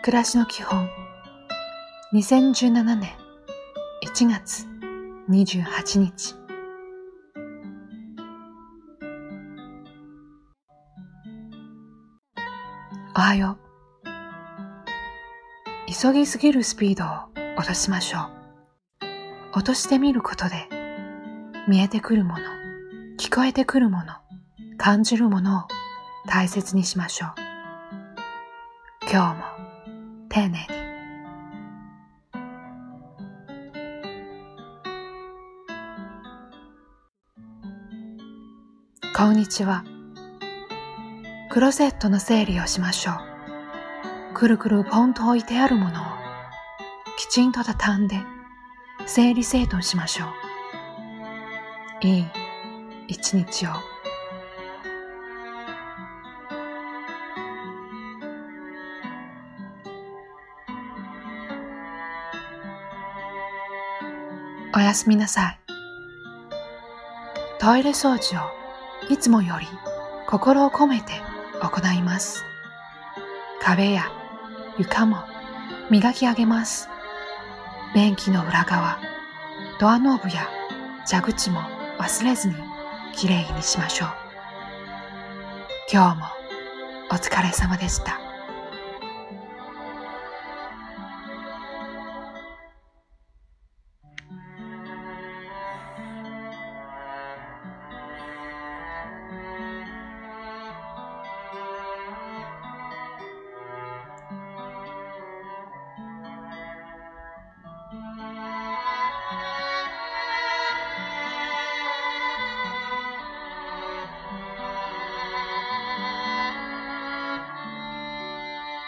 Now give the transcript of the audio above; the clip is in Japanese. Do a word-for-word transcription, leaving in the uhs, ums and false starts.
暮らしの基本にせんじゅうななねんいちがつにじゅうはちにち。おはよう。急ぎすぎるスピードを落としましょう。落としてみることで見えてくるもの、聞こえてくるもの、感じるものを大切にしましょう。今日も丁寧に。こんにちは。クローゼットの整理をしましょう。くるくるポンと置いてあるものをきちんと畳んで整理整頓しましょう。いい一日を。おやすみなさい。トイレ掃除をいつもより心を込めて行います。壁や床も磨き上げます。便器の裏側、ドアノブや蛇口も忘れずにきれいにしましょう。今日もお疲れ様でした。